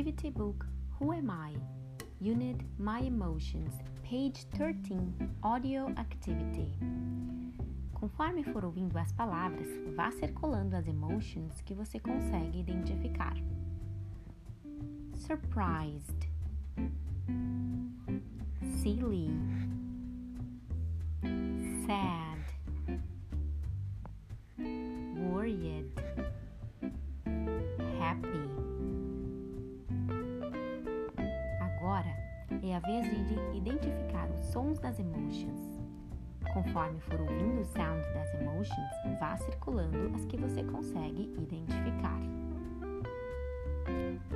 Activity Book Who Am I? Unit My Emotions, page 13, Audio Activity. Conforme for ouvindo as palavras, vá circulando as emotions que você consegue identificar. Surprised, silly, sad, worried, happy. Agora é a vez de identificar os sons das emotions. Conforme for ouvindo o sound das emotions, vá circulando as que você consegue identificar.